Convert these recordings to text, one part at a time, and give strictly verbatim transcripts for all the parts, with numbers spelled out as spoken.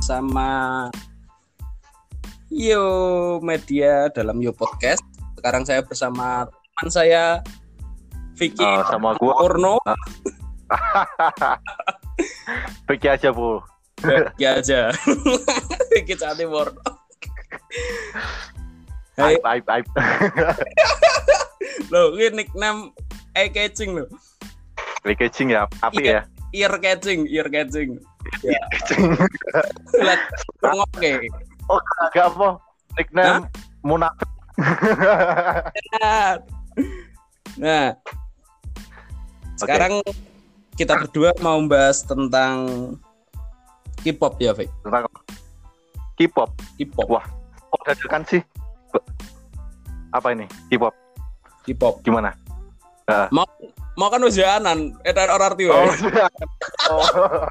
bersama Yo Media dalam Yo Podcast. Sekarang saya bersama teman saya Vicky uh, sama gua Porno. Vicky aja, Bu. Vicky aja. Vicky cantik Porno. Hai, hai, hai. Loh, ini nickname eye catching loh. Eye catching ya, api ya. Ear catching, ear catching. Ya. Lihat ngoke. Oh, agak apa? Nickname munafik. Nah, sekarang okay. Kita berdua mau bahas tentang K-pop ya, Fik? Tentang K-pop. K-pop. Wah, kok dadakan sih? Apa ini? K-pop. K-pop. Gimana? Uh. Mau mau kan ujianan, edan orang arti oh, oh.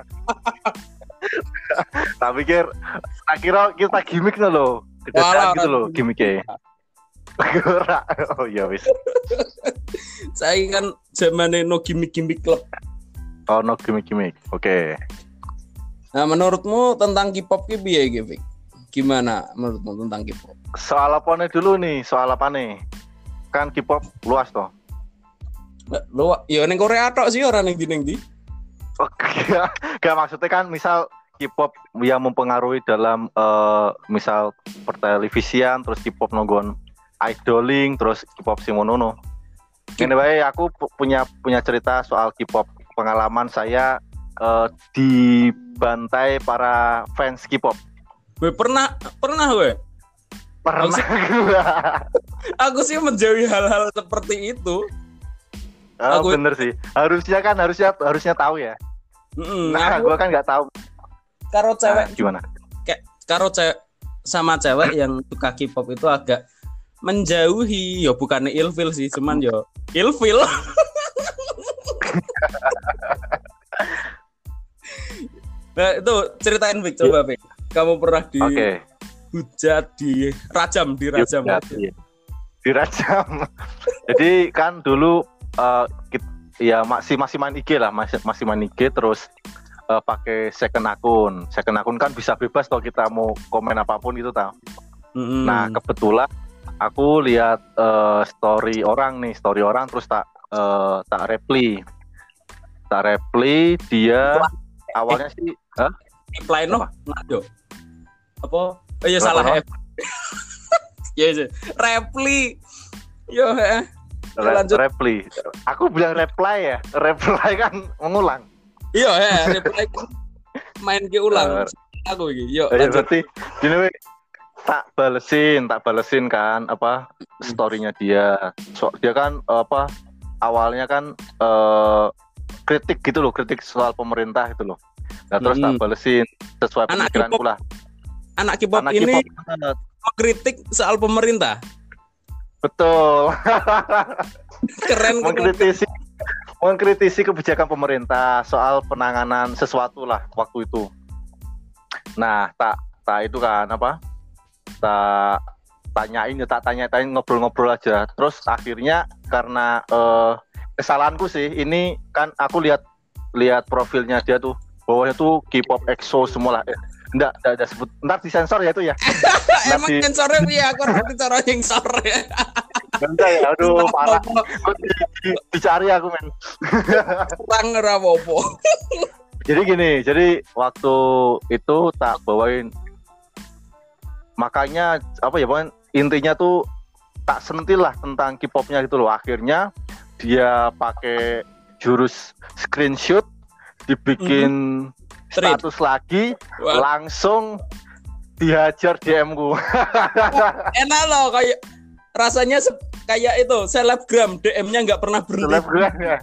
Tak pikir, tak kira kita gimmick loh, kedatangan gitu loh gimmicknya. Ora. Oh iya wis. Saya kan zamane no gimmick-gimmick klub. Oh no gimmick-gimmick. Oke. Okay. Nah, menurutmu tentang K-pop ki piye iki, Fik? Gimana menurutmu tentang K-pop? Soal apa nih dulu nih? Soal apa nih? Kan K-pop luas toh. Lu ya ning Korea tok sih ora ning ndi-ndi. Oke. Gak maksudnya kan misal K-pop yang mempengaruhi dalam uh, misal pertelevisian terus K-pop nonggon idoling terus K-pop sing ngono. Ngene wae aku punya punya cerita soal K-pop. Pengalaman saya uh, dibantai para fans K-pop. Gue pernah pernah gue. Pernah. Aku sih, aku sih menjauhi hal-hal seperti itu. Oh, aku bener sih. Harusnya kan harusnya harusnya tahu ya. Mm, nah, gue kan nggak tahu. Karo cewek nah, gimana? Kayak karo cewek sama cewek yang suka K-pop itu agak menjauhi. Ya bukannya ilfil sih, cuman yo ilfil. Nah itu ceritain Vic, coba Vic. Kamu pernah di okay. hujat, di rajam, di rajam. Ya, ya. Di rajam. Jadi kan dulu uh, kita, ya masih masih main I G lah, masih masih main I G terus uh, pakai second akun. Second akun kan bisa bebas kalau kita mau komen apapun gitu tau. Mm-hmm. Nah kebetulan aku lihat uh, story orang nih, story orang terus tak uh, tak reply, tak reply dia Wah. awalnya eh. sih, huh? reply no, nado, apa? Oh iya salah ya. Ya sih, reply, yo eh. Lanjut. Reply. Aku bilang reply ya. Reply kan mengulang. Iya ya, reply main ke ulang. Uh, aku iki. Yo, ya, berarti gini we, tak balesin, tak balesin kan apa story-nya dia. So, dia kan apa awalnya kan uh, kritik gitu loh, kritik soal pemerintah itu loh. Nah, terus hmm. tak balesin sesuai pemikiranku lah. Anak K-pop Anak ini kritik soal pemerintah. Betul. Keren. Mengkritisi mengkritisi kebijakan pemerintah soal penanganan sesuatu lah waktu itu. Nah, tak tak itu kan apa? Tak tanyain ya, tak tanya-tanya ngobrol-ngobrol aja. Terus akhirnya karena eh, kesalahanku sih, ini kan aku lihat lihat profilnya dia tuh, bawahnya tuh K-pop E X O semua lah. Eh, enggak, enggak ada sebut. Ntar disensor ya itu ya. Emang di... sensornya ya, aku nanti cara sensor ya. Bentar ya, aduh parah. Di, di, dicari aku men. Kurang rapopo. Jadi gini, jadi waktu itu tak bawain. Makanya apa ya, pokoknya intinya tuh tak sentil lah tentang K-popnya gitu loh. Akhirnya dia pakai jurus screenshot, dibikin mm-hmm. status lagi, What? langsung dihajar D M-ku. Enak loh, kayak rasanya se- kayak itu selebgram, D M-nya nggak pernah berhenti. Selebgram ya.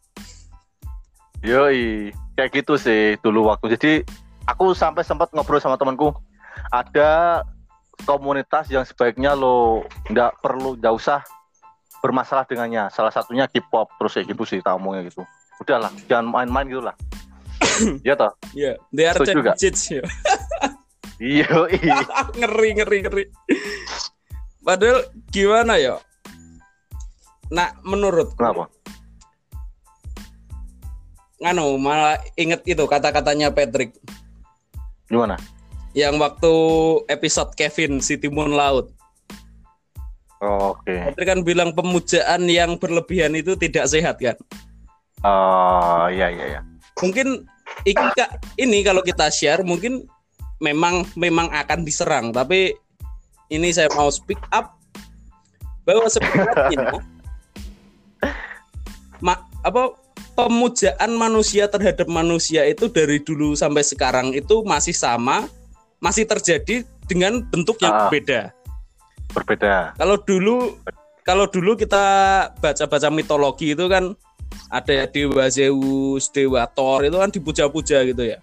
Yoi, kayak gitu sih dulu waktu. Jadi aku sampai sempat ngobrol sama temanku, ada komunitas yang sebaiknya lo nggak perlu, nggak usah bermasalah dengannya. Salah satunya K-pop, terus kayak gitu sih, tak omongnya gitu. Udahlah, jangan main-main gitu lah. Iya toh? Iya, they are cheats ya. Iya, ngeri ngeri ngeri. Padahal gimana ya? Nah, menurut kenapa? Nganu malah inget itu kata-katanya Patrick. Gimana? Yang waktu episode Kevin si Timun Laut. Oh, oke. Okay. Petri kan bilang pemujaan yang berlebihan itu tidak sehat kan? Oh, iya iya iya. Mungkin ini, ini kalau kita share mungkin memang memang akan diserang, tapi ini saya mau speak up bahwa sebenarnya ma, apa pemujaan manusia terhadap manusia itu dari dulu sampai sekarang itu masih sama, masih terjadi dengan bentuk yang uh, berbeda. Berbeda. Kalau dulu kalau dulu kita baca-baca mitologi itu kan ada dewa Zeus, dewa Thor itu kan dipuja-puja gitu ya.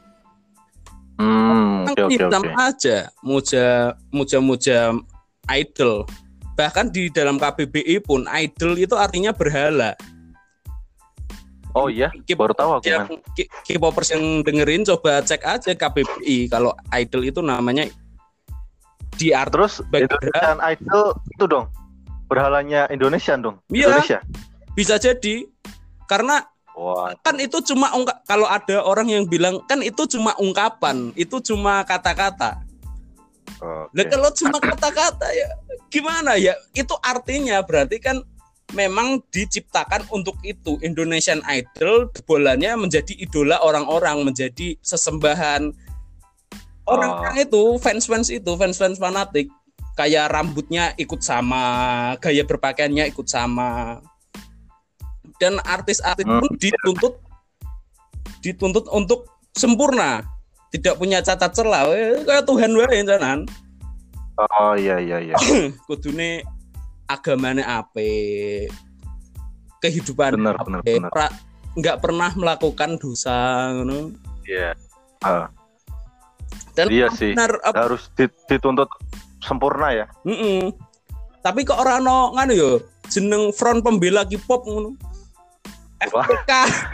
Hmm, oke oke oke. aja muja muja-muja idol. Bahkan di dalam K B B I pun idol itu artinya berhala. Oh iya, baru tahu aku kan. K-popers yang dengerin coba cek aja K B B I kalau idol itu namanya di art. Terus Indonesian Idol itu dong berhalanya Indonesia dong. Ya, Indonesia. Bisa jadi karena wow. Kan itu cuma ungkap, kalau ada orang yang bilang kan itu cuma ungkapan, itu cuma kata-kata. Okay. Nah kalau cuma kata-kata ya gimana ya? Itu artinya berarti kan memang diciptakan untuk itu. Indonesian Idol bolanya menjadi idola orang-orang, menjadi sesembahan orang-orang oh. itu, fans-fans itu, fans-fans fanatik. Kayak rambutnya ikut sama, gaya berpakaiannya ikut sama. Dan artis-artis pun dituntut dituntut untuk sempurna, tidak punya cacat celah, kayak Tuhan wae janan. Oh iya iya iya. Kudune agamane ape, kehidupan bener, ape, bener, bener. Pra, nggak pernah melakukan dosa, ngono. Iya. Uh. Dan iya sih. Benar, ap- harus dituntut sempurna ya. Mm-mm. Tapi kok ora ono ngono yo, jeneng front pembela K-pop ngono. F P K.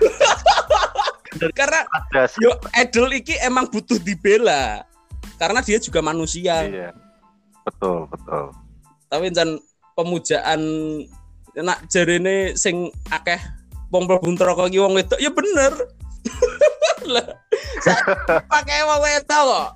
Karena yo idol iki emang butuh dibela. Karena dia juga manusia. Iya. Betul, betul. Tapi jan pemujaan nak jarene sing akeh wong mlebu neraka iki wong wedok ya bener. Lah, pakai wong wedok kok.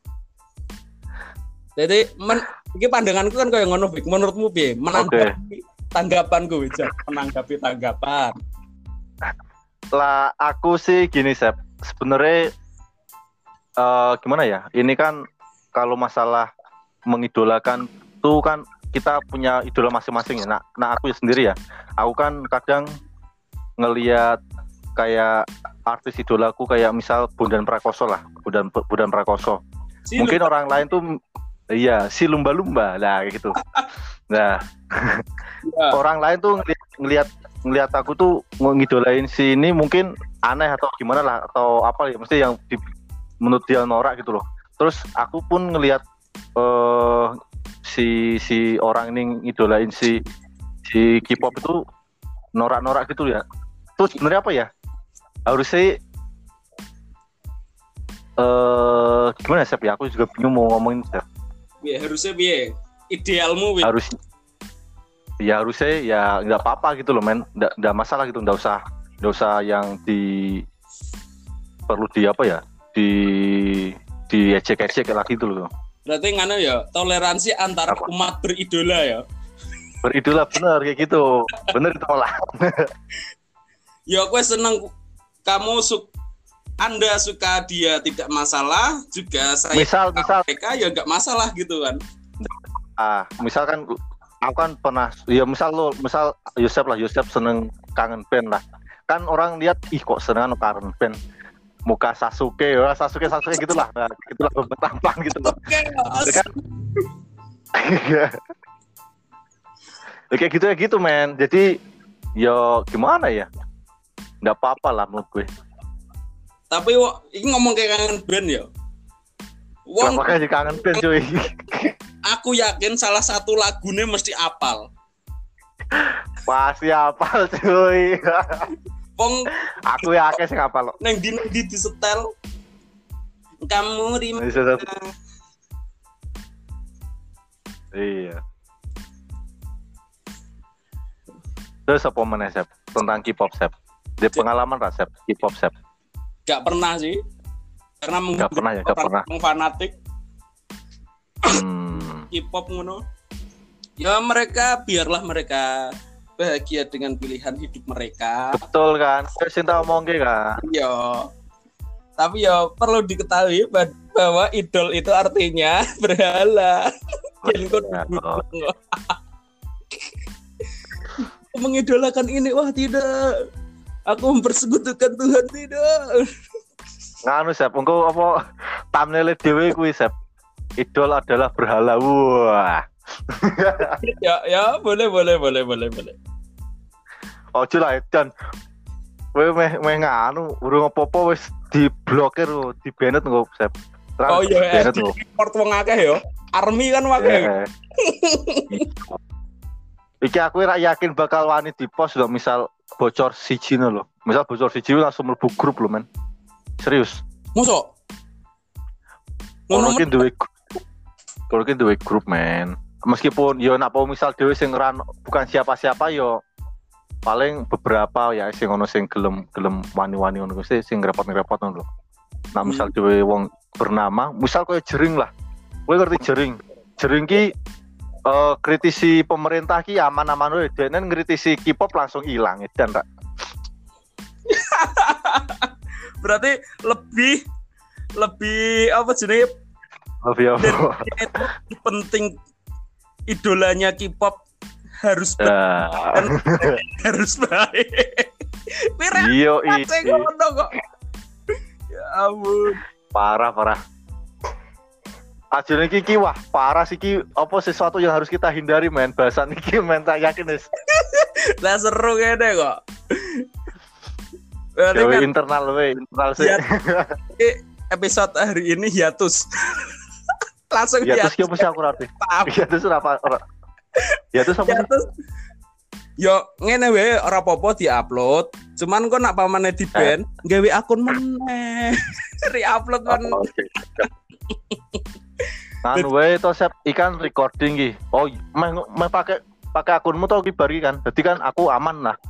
Jadi men, iki pandanganku kan kayak ngono, Bik. Menurutmu piye? Menanggapi okay. tanggapanku, Wijak. Menanggapi tanggapan. Lah aku sih gini, Sep. Sebenarnya uh, gimana ya? Ini kan kalau masalah mengidolakan tuh kan kita punya idola masing-masing ya. Nah, nah aku sendiri ya. Aku kan kadang ngelihat kayak artis idolaku kayak misal Bondan Prakoso lah, Bondan Bondan Prakoso. Si Mungkin lumba. Orang lain tuh iya, si lumba-lumba lah kayak gitu. Nah, ya. Orang lain tuh ngelihat, ngelihat ngelihat aku tuh ngidolain si ini mungkin aneh atau gimana lah atau apa ya, mesti yang di, menurut dia norak gitu loh. Terus aku pun ngelihat uh, si si orang ini ngidolain si si K-pop itu norak-norak gitu ya. Terus sebenarnya apa ya? Harusnya uh, gimana Sep ya? Aku juga bingung mau ngomongin Sep. Ya harusnya biye idealmu we. Harus ya harusnya ya nggak apa-apa gitu loh men, nggak nggak masalah gitu, nggak usah nggak usah yang di perlu di apa ya di di ecek-ecek lagi gitu loh. Berarti ngana ya toleransi antara apa? Umat beridola ya. Beridola bener kayak gitu, bener itu malah. Ya aku seneng kamu su- Anda suka dia tidak masalah, juga saya misal misal mereka ya nggak masalah gitu kan. Ah misalkan aku kan pernah ya misal lo misal Yosep lah Yosep seneng kangen band lah kan orang lihat ih kok seneng kangen band muka Sasuke ya Sasuke Sasuke gitulah nah, gitulah tampang gitu loh okay, kan kayak gitu ya gitu men jadi ya gimana ya nggak apa-apa lah menurut gue tapi ini ngomong kayak kangen band ya Wong makanya kangen band cuy. Aku yakin salah satu lagunya mesti apal. Pasti apal cuy. Pong aku yakin sih apal. Neng di di disetel. Kamu di mana? Iya. Terus apa mana Sep? Tentang K-pop Sep. Di pengalaman lah Sep, K-pop Sep. Gak pernah sih. karena mungkin Gak pernah ya, gak pernah. Orang fanatik Hmm. K-pop ngono. Ya mereka biarlah mereka bahagia dengan pilihan hidup mereka. Betul kan? Sing tak omongke kan. Iya. Tapi ya perlu diketahui bahwa idol itu artinya berhala. Jangan kau mengidolakan ini, wah tidak. Aku mempersekutukan Tuhan, tidak. Nganu Sep, engko apa thumbnail dhewe kuwi Sep. Idol adalah berhala. Wah. ya ya boleh boleh boleh boleh boleh. Ojo lah Edan. Kowe meh meh nganu urung apa-apa wis diblokir lho, di-banned engko Sep. Oh iya, di report wong akeh yo. Army kan akeh. Iki aku ora yakin bakal wani di-post lho, misal bocor siji lho. Misal bocor siji langsung mlebu grup lho, men. Serius. Mosok? Ngono ki duwe Kalau ki duwe grup, men. Meskipun yo nak apa misal dhewe sing ran bukan siapa-siapa yo paling beberapa ya sing ono sing gelem gelem wani-wani ngono kuwi sing repot-repot ngono lho. Nah, misal dhewe wong bernama, misal koyo Jering lah. Kowe ngerti Jering? Jering ki uh, kritisi pemerintah ki aman-aman wae, dene ngritisi K-pop langsung ilang edan tak. Berarti lebih lebih apa jenenge? Lebih apa? Penting idolanya K-pop harus baik uh. dan harus baik. Iya, iya. Kok. Ya ampun. Parah, parah. Ajine iki wah, parah sih iki apa sesuatu yang harus kita hindari, men. Bahasan iki men tak yakin wis. Lah seru kene kok. Berarti kan internal we, internal sih. Episode hari ini hiatus. Langsung hiatus. Hiatus ki apa sih aku ngerti? Hiatus apa ora? Hiatus apa sih? Yo ngene wae ora apa-apa di-upload. Cuman kok nak pamane di-ban, gawe akun meneh. Re-upload men. Kan wae to Sep ikan recording ki. Oh, meh meh pakai pakai akunmu to ki bari kan. Dadi kan aku aman lah.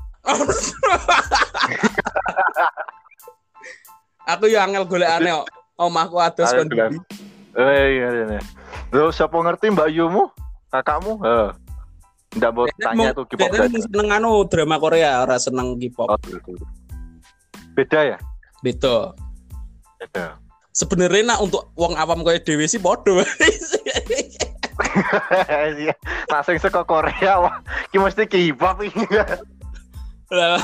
Aku yo angel golekane kok. Omahku ados kon ndi. Eh iya iya. Lho sapa ngerti Mbak Yumu? Kakakmu? Heeh. Ndak mau tanya tuh K-pop. Beda seneng anu drama Korea, ora seneng K-pop. Oh, beda ya? Beda. Beda. Sebenarnya nak untuk wong awam kaya dhewe sih padha. Nah sing saka Korea wah, ki mesti K-pop iki. Lah.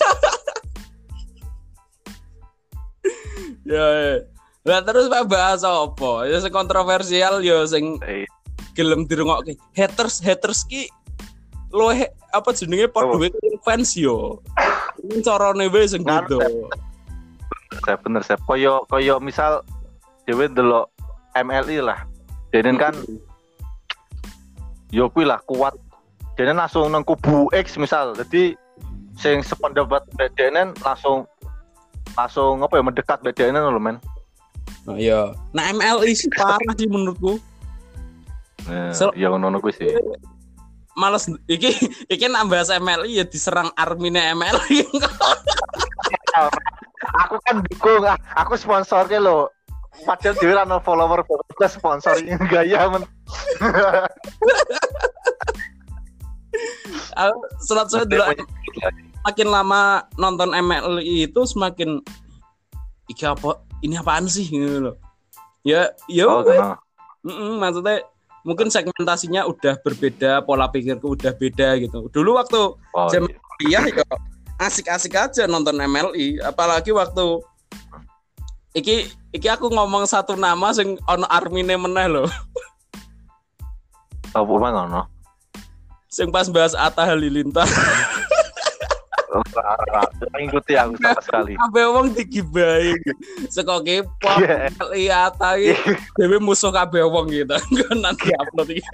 Ya. Lah terus Pak bahas apa? Ya sing kontroversial ya sing gelem dirungokke. Haters haters ki lo he, apa jenenge padha wae fans yo. Ini carane wae sing beda. Saya bener saya koyo koyo misal dhewe ndelok M L I lah. Dene kan yo kuwi lah kuat. Dene langsung nang kubu X misal. Jadi sing sependapat mbek dene langsung langsung apa ya mendekat mbek dene lho men. Oh iya. Nah M L I sih parah sih menurutku. Nah, so, ya ngono kuwi sih. Males iki iki nak bahas M L I ya diserang armine M L I. Aku kan dukung, aku sponsornya lo. Padahal dhewe ra ono follower plus sponsor gaya men. Aku selat-selat dulu makin lama nonton M L I itu semakin iki apa ini apaan sih gitu loh. Ya, yo. Oh, mm-mm, maksudnya mungkin segmentasinya udah berbeda, pola pikirku udah beda gitu. Dulu waktu oh, jam kuliah iya. Ya asik-asik aja nonton M L I, apalagi waktu iki iki aku ngomong satu nama sing ono armine meneh lho. Apa oh, ngono? Sing pas bahas Atta Halilintar. Ngikuti aku sama sekali. Kabeh wong digibahi. Seko K-pop, Atta iki dhewe musuh kabeh wong gitu. Engko nanti upload iki.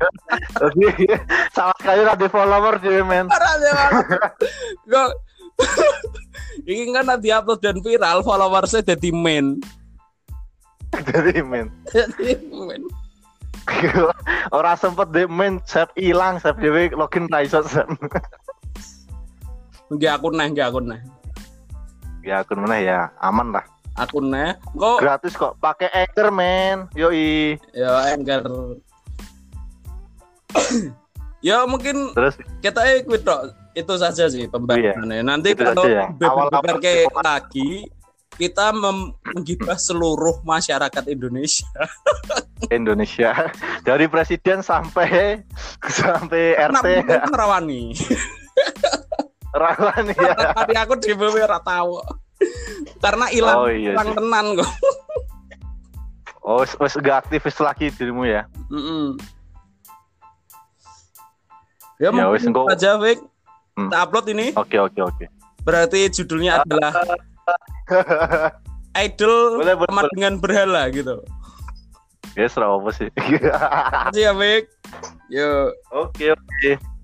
Sama sekali ora di follower dhewe men. Ora ada. Kok iki kan nanti upload dan viral followersnya jadi main. Jadi main. Jadi main. Ora sempet de main, save ilang, save dhewe login ra iso. Nggih akun neh, nggih akun neh. Ya akun meneh ya, aman lah. akunnya. Kok gratis kok, pakai Anchor men. Yoi. Ya Anchor. Ya mungkin Terus kita ikut dok. Itu saja sih pembahasannya. Nanti Itu kalau saja ya. beber Awal-awal kayak lagi kita mem- menggibah seluruh masyarakat Indonesia. Indonesia dari presiden sampai sampai R T. Nah, Rawani. Rawan ya. Tadi aku di bawah ora tahu. Karena hilang Oh, iya hilang sih. tenan kok. Oh, wes wes gak aktivis lagi dirimu ya. Mm-mm. Ya, Ya, wes, mungkin engkau- saja, Wik. Hmm. Kita upload ini. Oke oke oke. Berarti judulnya adalah Idol Boleh, boleh, sama boleh. dengan berhala gitu. Ya, serah apa sih. Terima kasih ya, Wik. Yuk. Oke oke.